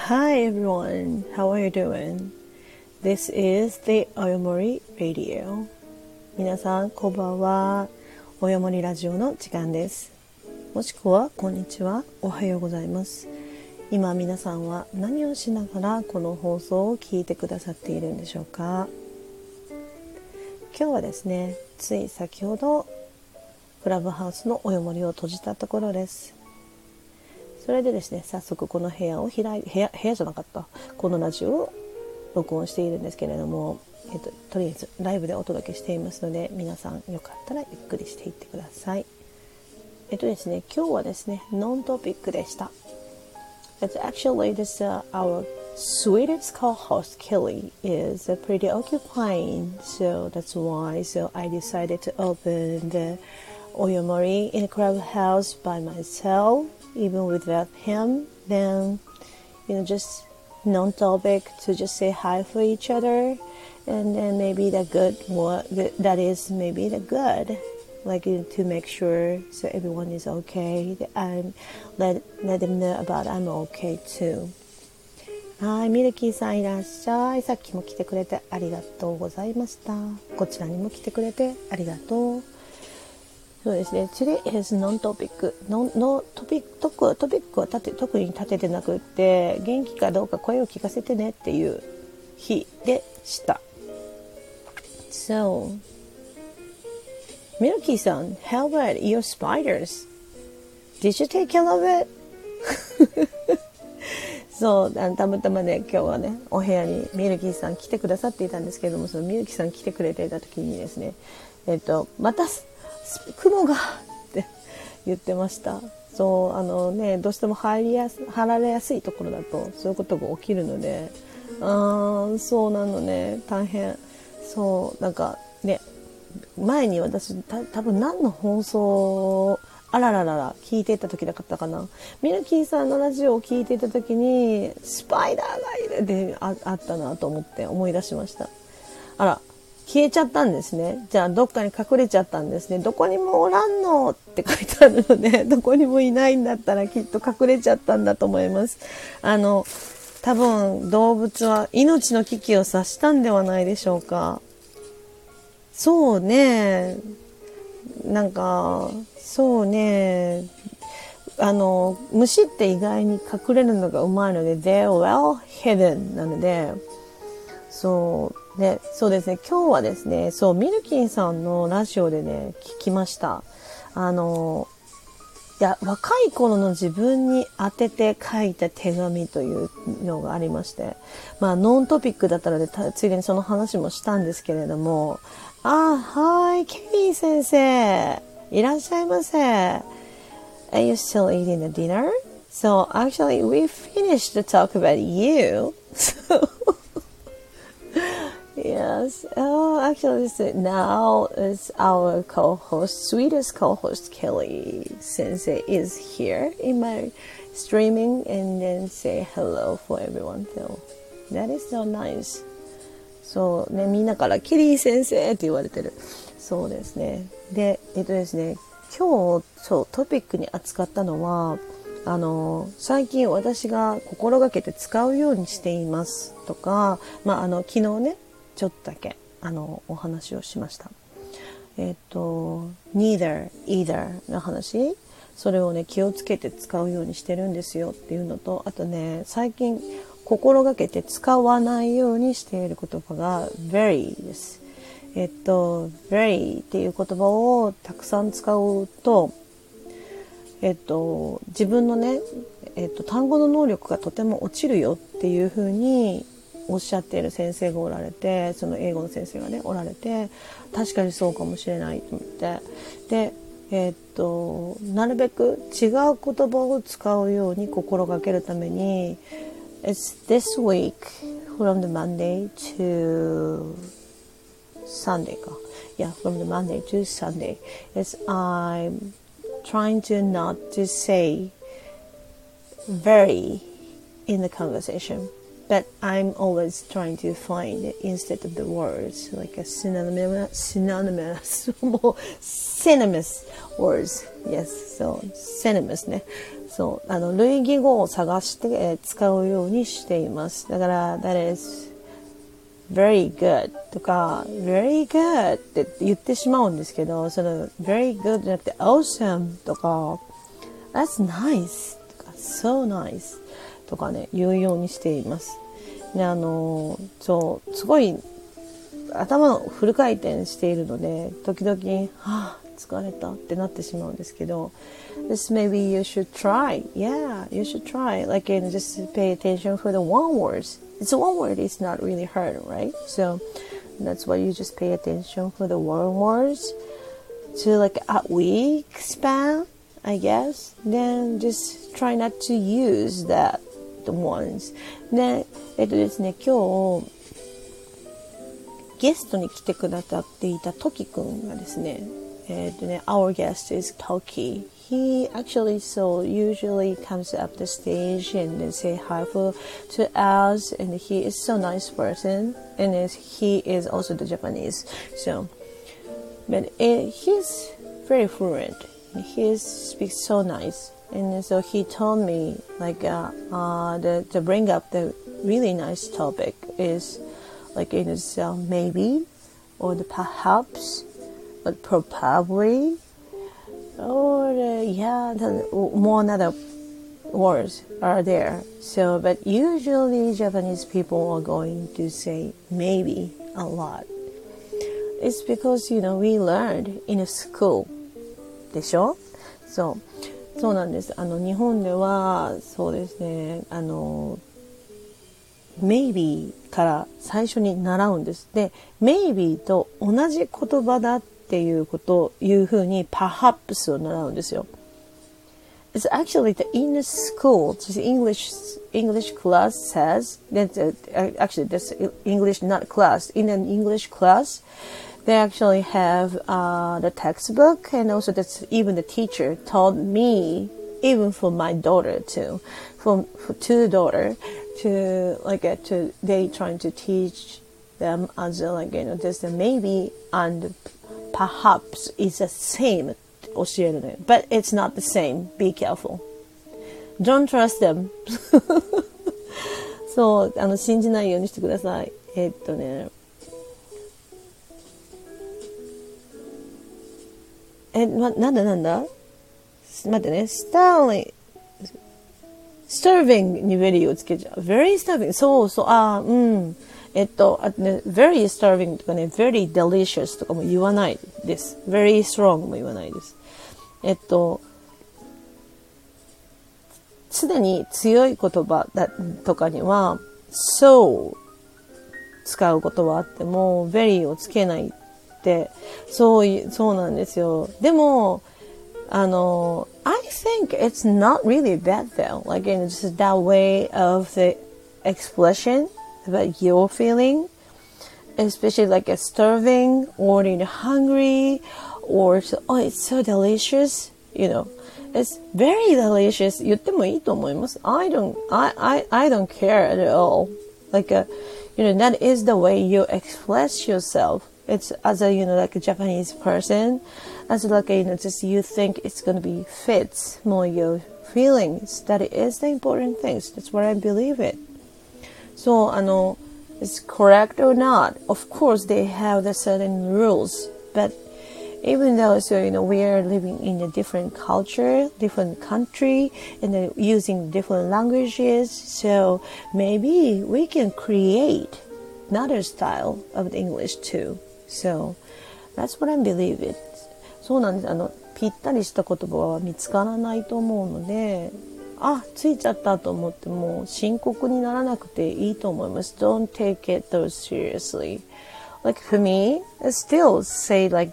Hi everyone, how are you doing? This is the Oyomori Radio. 皆さんこんばんは。およもりラジオの時間です。もしくはこんにちは、おはようございます。今皆さんは何をしながらこの放送を聞いてくださっているんでしょうか？今日はですね、つい先ほどクラブハウスのおよもりを閉じたところです。それでですね、早速この部屋じゃなかった、このラジオを録音しているんですけれども、とりあえずライブでお届けしていますので、皆さんよかったらゆっくりしていってください。ですね、今日はですね、ノントピックでした。Actually, our sweetest co-host Kelly is pretty occupying, so that's why I decided to open the Oyomori in a clubhouse by myself.Even without him, then just non-topic to just say hi for each other, and then maybe the good one that is maybe the good, like to make sure so everyone is okay. And let them know about I'm okay too. はい、ミルキーさんいらっしゃい。さっきも来てくれてありがとうございました。こちらにも来てくれてありがとう。そうですね。Today is non-topic. トピックは特に立ててなくって、元気かどうか声を聞かせてねっていう日でした。So, ミルキーさん、how about your spiders? Did you take care of it? そう、たまたまね、今日はね、お部屋にミルキーさん来てくださっていたんですけれども、そのミルキーさん来てくれていた時にですね、また雲がって言ってました。そうどうしても入られやすいところだとそういうことが起きるので、そうなのね、大変。そうなんかね、前に私多分何の放送聞いていた時だったかな、ミルキーさんのラジオを聞いていた時にスパイダーがいるで あったなと思い出しました。あら、消えちゃったんですね。じゃあどっかに隠れちゃったんですね。どこにもおらんのって書いてあるので、どこにもいないんだったらきっと隠れちゃったんだと思います。多分動物は命の危機を察したんではないでしょうか。そうね、なんかそうね、虫って意外に隠れるのがうまいので They're well hidden なので、そうですね、今日はですね、ミルキーさんのラジオでね、聞きました。若い頃の自分に当てて書いた手紙というのがありまして、ノントピックだったので、ついでにその話もしたんですけれども、はい、ケリー先生、いらっしゃいませ。Are you still eating the dinner? So actually we finished to talk about you. Yes. Actually, now is our sweetest co-host Kelly Sensei is here in my streaming and then say hello for everyone. So that is so nice. そうね、みんなからケリー先生って言われてる。そうですね。で、ですね、今日トピックに扱ったのは、最近私が心がけて使うようにしていますとか、昨日ね、ちょっとだけお話をしました。neither, either の話、それをね、気をつけて使うようにしてるんですよっていうのと、あとね、最近心がけて使わないようにしている言葉が very です。very っていう言葉をたくさん使うと、自分のね、単語の能力がとても落ちるよっていう風におっしゃっている先生がおられて、その英語の先生がねおられて、確かにそうかもしれないと思って、でなるべく違う言葉を使うように心がけるために It's this week from the Monday to Sunday か。Yeah, from the Monday to Sunday. I'm trying to not to say very in the conversation.But I'm always trying to find instead of the words like a synonymous synonymous words. Yes, so synonymous ね。 そう、類義語を探して、使うようにしています。だから、that is very good とか、very good って言ってしまうんですけど、その very good じゃなくて awesome とか、that's nice とか、so nice とかね、言うようにしています。で、そう、すごい、頭のフル回転しているので、時々、疲れたってなってしまうんですけど、this maybe you should try. Yeah, you should try. Like, just pay attention for the one words. It's one word. It's not really hard, right? So that's why you just pay attention for the one words to like a week span, I guess. Then just try not to use that the ones. で、ですね、今日ゲストに来てくださっていたトキくんがですね、our guest is Toki. He actually usually comes up the stage and then say hi to us, and he is so nice person, and he is also the Japanese. So, but he's very fluent. He speaks so nice, and so he told me like to bring up the really nice topic is like it is maybe or the perhaps. But probably, or more other words are there. So, but usually Japanese people are going to say maybe a lot. It's because, we learned in a school. でしょ？そうなんです。日本では、そうですね、maybe から最初に習うんです。で、maybe と同じ言葉だっていう風に perhaps を習うんですよ。It's actually in the school, the English class says that actually this English not class. In an English class, they actually have the textbook, and also even the teacher told me, even for my daughter too, for two daughter, they trying to teach them as just maybe and perhaps is the same 教えるのよ。But it's not the same. Be careful. Don't trust them. そう、信じないようにしてください。なんだ待ってね。starving に very をつけちゃう。very starving. そう、very starving とかね、very delicious とかも言わないです。very strong も言わないです。すでに強い言葉とかには、so 使うことはあっても、very をつけないって、そうなんですよ。でも、I think it's not really bad though. Like, it's just that way of the expression about your feeling, especially like a starving or hungry or it's so delicious, it's very delicious. 言ってもいいと思います。I don't care at all. Like, that is the way you express yourself. It's as a, like a Japanese person, as like, just you think it's going to be fits more your feelings. That is the important things. That's what I believe it. So, it's correct or not. Of course, they have the certain rules, but even though, we are living in a different culture, different country, and then using different languages, so maybe we can create another style of English too. So, that's what I believe it. そうなんです。ぴったりした言葉は見つからないと思うので、ついちゃったと思っても深刻にならなくていいと思います。Don't take it so seriously. Like for me, I still say like,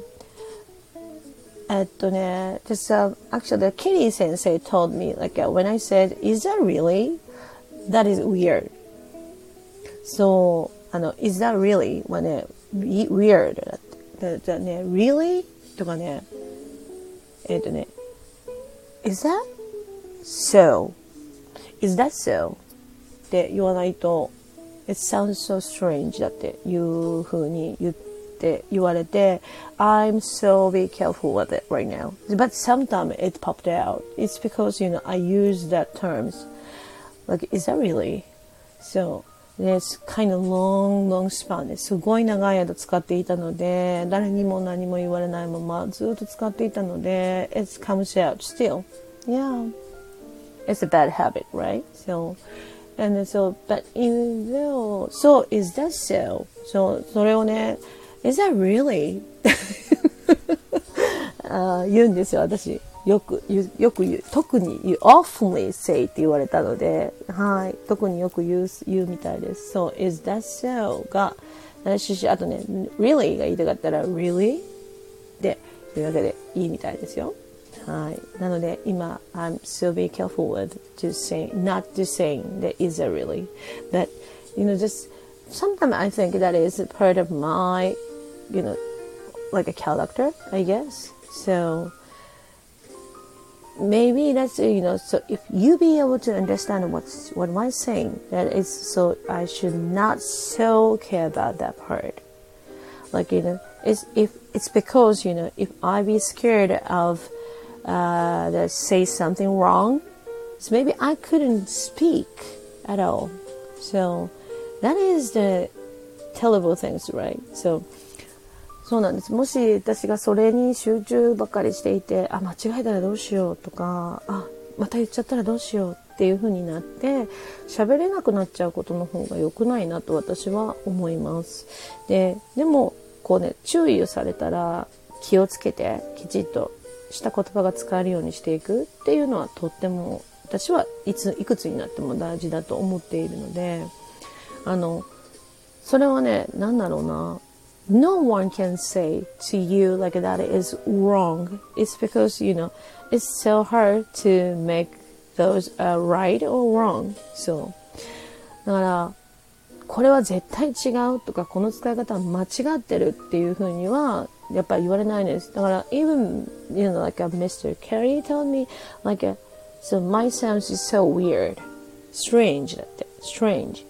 just actually, Kitty sensei told me, like, when I said, is that really? That is weird. So, is that really? はね、weird だって。だね、really? とかね、is that so? Is that so? って言わないと、it sounds so strange だっていう風に言っって言われて I'm so be careful with it right now. But sometimes it popped out. It's because, I use that terms. Like, is that really? So, it's kind of long span ですごい長い間使っていたので、誰にも何も言われないままずっと使っていたので、it comes out still. Yeah. It's a bad habit, right? So,And so, but even though, so is that so? それをね、is that really? 言うんですよ、私。よく言う。特に言う。oftenly say って言われたので、はい。特によく言うみたいです。So, is that so? が、あとね、really が言いたかったら、really? で、というわけでいいみたいですよ。はい。なので今 I'm so be careful with not to saying that is that really, but just sometimes I think that is part of my like a character, I guess. So maybe that's so if you be able to understand what am I saying, that is so I should not so care about that part. Like it's because if I be scared of that say something wrong, so maybe I couldn't speak at all. So that is the terrible things, right? So そうなんです。もし私がそれに集中ばっかりしていて、間違えたらどうしようとか、また言っちゃったらどうしようっていう風になって喋れなくなっちゃうことの方が良くないなと私は思います。でもこうね、注意をされたら気をつけてきちっとした言葉が使えるようにしていくっていうのはとっても私はいくつになっても大事だと思っているので、それはね、なんだろうな、No one can say to you like that is wrong. It's because it's so hard to make those right or wrong. So だからこれは絶対違うとかこの使い方は間違ってるっていうふうにはやっぱり言われないです。だから even like a Mr. Carey told me like so my sound is so weird, strange だって strange.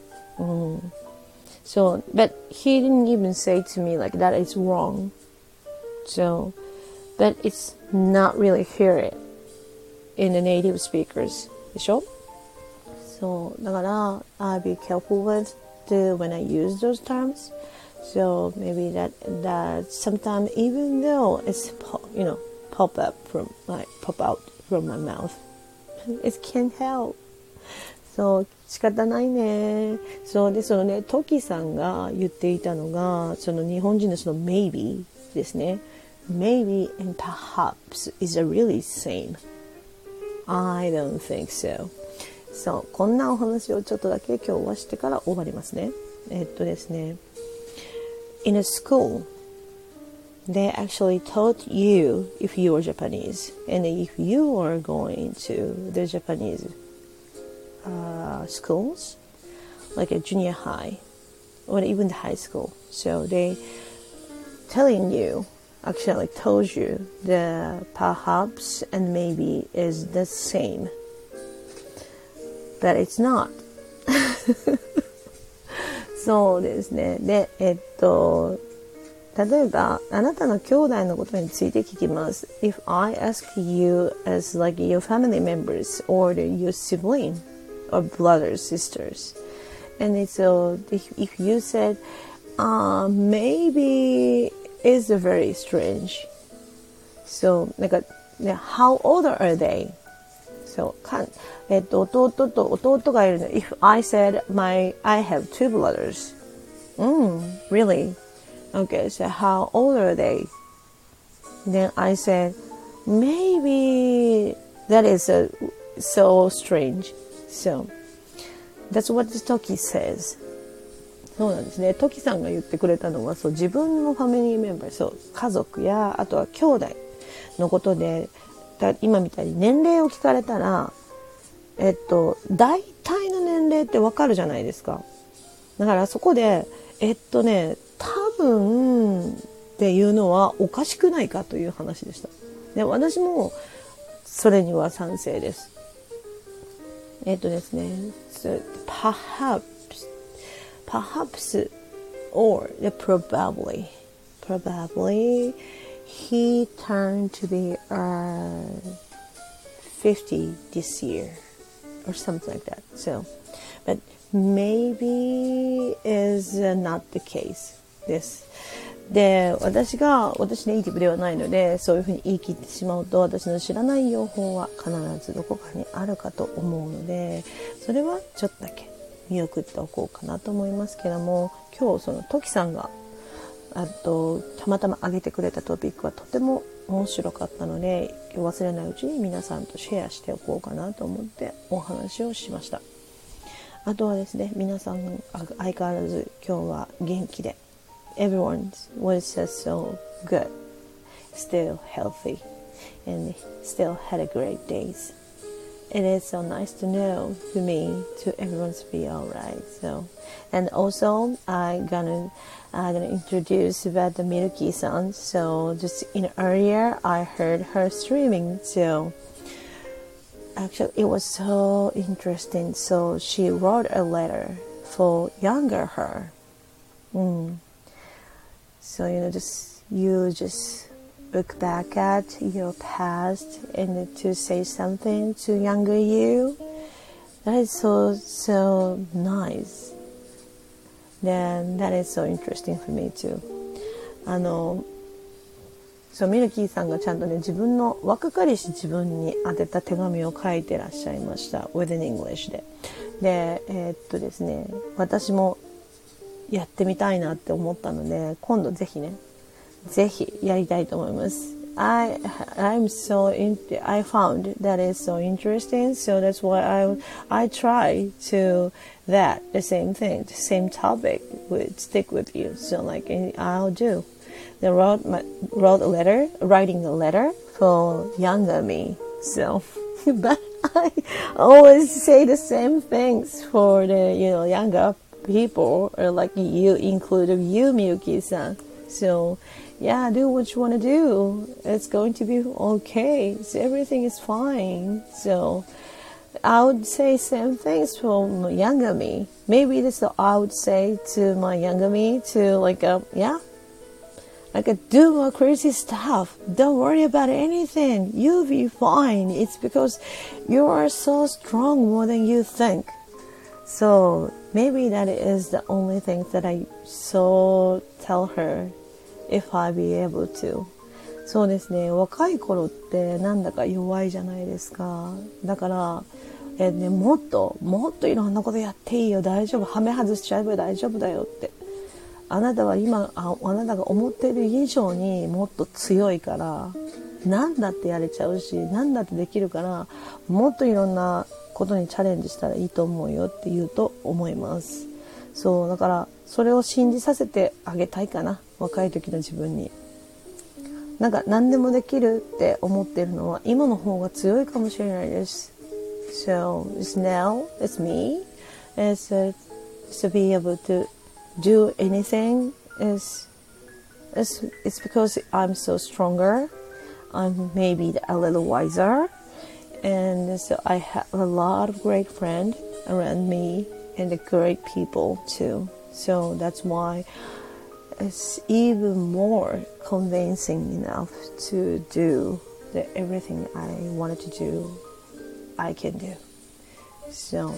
So but he didn't even say to me like that is wrong. So but it's not really hear it in the native speakers でしょ。そうだから I'll be careful with when I use those terms. So maybe that sometimes even though it's pop out from my mouth, it can't help. そう仕方ないね。そうでね、トキさんが言っていたのがその日本人のその maybe ですね。Maybe and perhaps is a really same. I don't think so. そうこんなお話をちょっとだけ今日はしてから終わりますね。ですね。In a school, they actually taught you if you were Japanese, and if you are going to the Japanese schools, like a junior high or even the high school. So they actually told you the perhaps and maybe is the same, but it's not. そうですね。で、例えばあなたの兄弟のことについて聞きます。If I ask you as like your family members or your sibling or brothers, sisters, and so if you said, maybe it's very strange. So なんかね、how old are they? So 弟と弟がいるの。If I said I have two brothers. Really? Okay, so how old are they? Then I said, maybe that is so strange. So that's what the Toki says. そうなんですね。トキさんが言ってくれたのは、そう自分のファミリーメンバー、そう家族やあとは兄弟のことで、今みたいに年齢を聞かれたら、大体の年齢ってわかるじゃないですか。だからそこで多分っていうのはおかしくないかという話でした。で、私もそれには賛成です。ですね、perhaps or probably probably he turned to be 50 this year or something like that. So, but maybe is not the case です。で、私ネイティブではないので、そういうふうに言い切ってしまうと、私の知らない用法は必ずどこかにあるかと思うので、それはちょっとだけ見送っておこうかなと思いますけども、今日そのトキさんがたまたま上げてくれたトピックはとても面白かったので、忘れないうちに皆さんとシェアしておこうかなと思ってお話をしました。あとはですね、皆さん相変わらず今日は元気で Everyone was just so good, still healthy, and still had a great days. It is so nice to know for me to everyone's be alright. So, and also I'm gonna introduce about the Milky-san. So just earlier I heard her streaming. So actually it was so interesting. So she wrote a letter for younger her. So you just look back at your past and to say something to younger you. That is so nice. Then that is so interesting for me too. そうミルキーさんがちゃんとね、自分の若かりし自分に宛てた手紙を書いてらっしゃいました。Within English で。で、ですね、私もやってみたいなって思ったので、今度ぜひやりたいと思います。I found that is so interesting, so that's why I try to that the same thing, the same topic would stick with you. So like I'll do. They writing a letter for younger me. So, but I always say the same things for the younger people, or like you include you, Miyuki-san. So, yeah, do what you want to do. It's going to be okay. So everything is fine. So I would say same things for my younger me. Maybe this I would say to my younger me to do more crazy stuff. Don't worry about anything. You'll be fine. It's because you are so strong more than you think. So maybe that is the only thing that I tell her if I be able to. そうですね、若い頃ってなんだか弱いじゃないですか。だから、もっといろんなことやっていいよ、大丈夫、はめ外しちゃえば大丈夫だよって。あなたは今あなたが思っている以上にもっと強いから、何だってやれちゃうし、何だってできるから、もっといろんなことにチャレンジしたらいいと思うよって言うと思います。そうだからそれを信じさせてあげたいかな、若い時の自分に。なんか何でもできるって思ってるのは今の方が強いかもしれないです。So now it's me. It's to be able to do anything it's because I'm so stronger. I'm maybe a little wiser, and so I have a lot of great friends around me and the great people too. So that's why it's even more convincing enough to do everything I wanted to do, I can do. So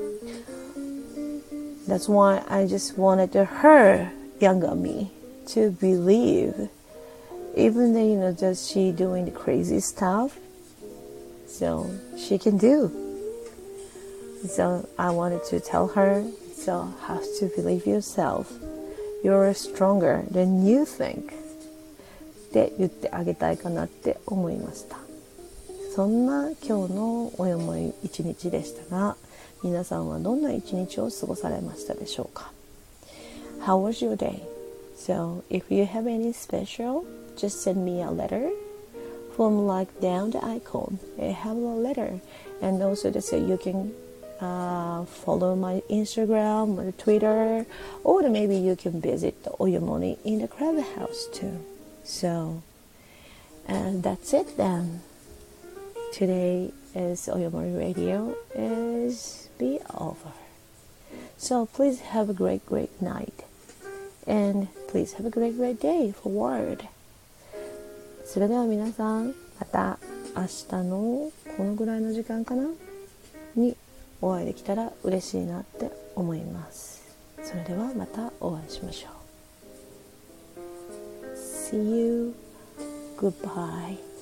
that's why I just wanted her younger me to believe, even though just she doing the crazy stuff, so she can do. So I wanted to tell her, so have to believe yourself. You're stronger than you think. って言ってあげたいかなって思いました。そんな今日のおよもい一日でしたが、皆さんはどんな一日を過ごされましたでしょうか。 How was your day? So if you have any special, just send me a letter from like down the icon. I have a letter, and also so you can follow my Instagram or Twitter, or maybe you can visit the Oyomoni in the Clubhouse too. So, and that's it then. Today is Oyomori Radio is be over. So please have a great night. And please have a great day forward. それでは皆さん、また明日のこのぐらいの時間かなにお会いできたら嬉しいなって思います。それではまたお会いしましょう。See you. Goodbye.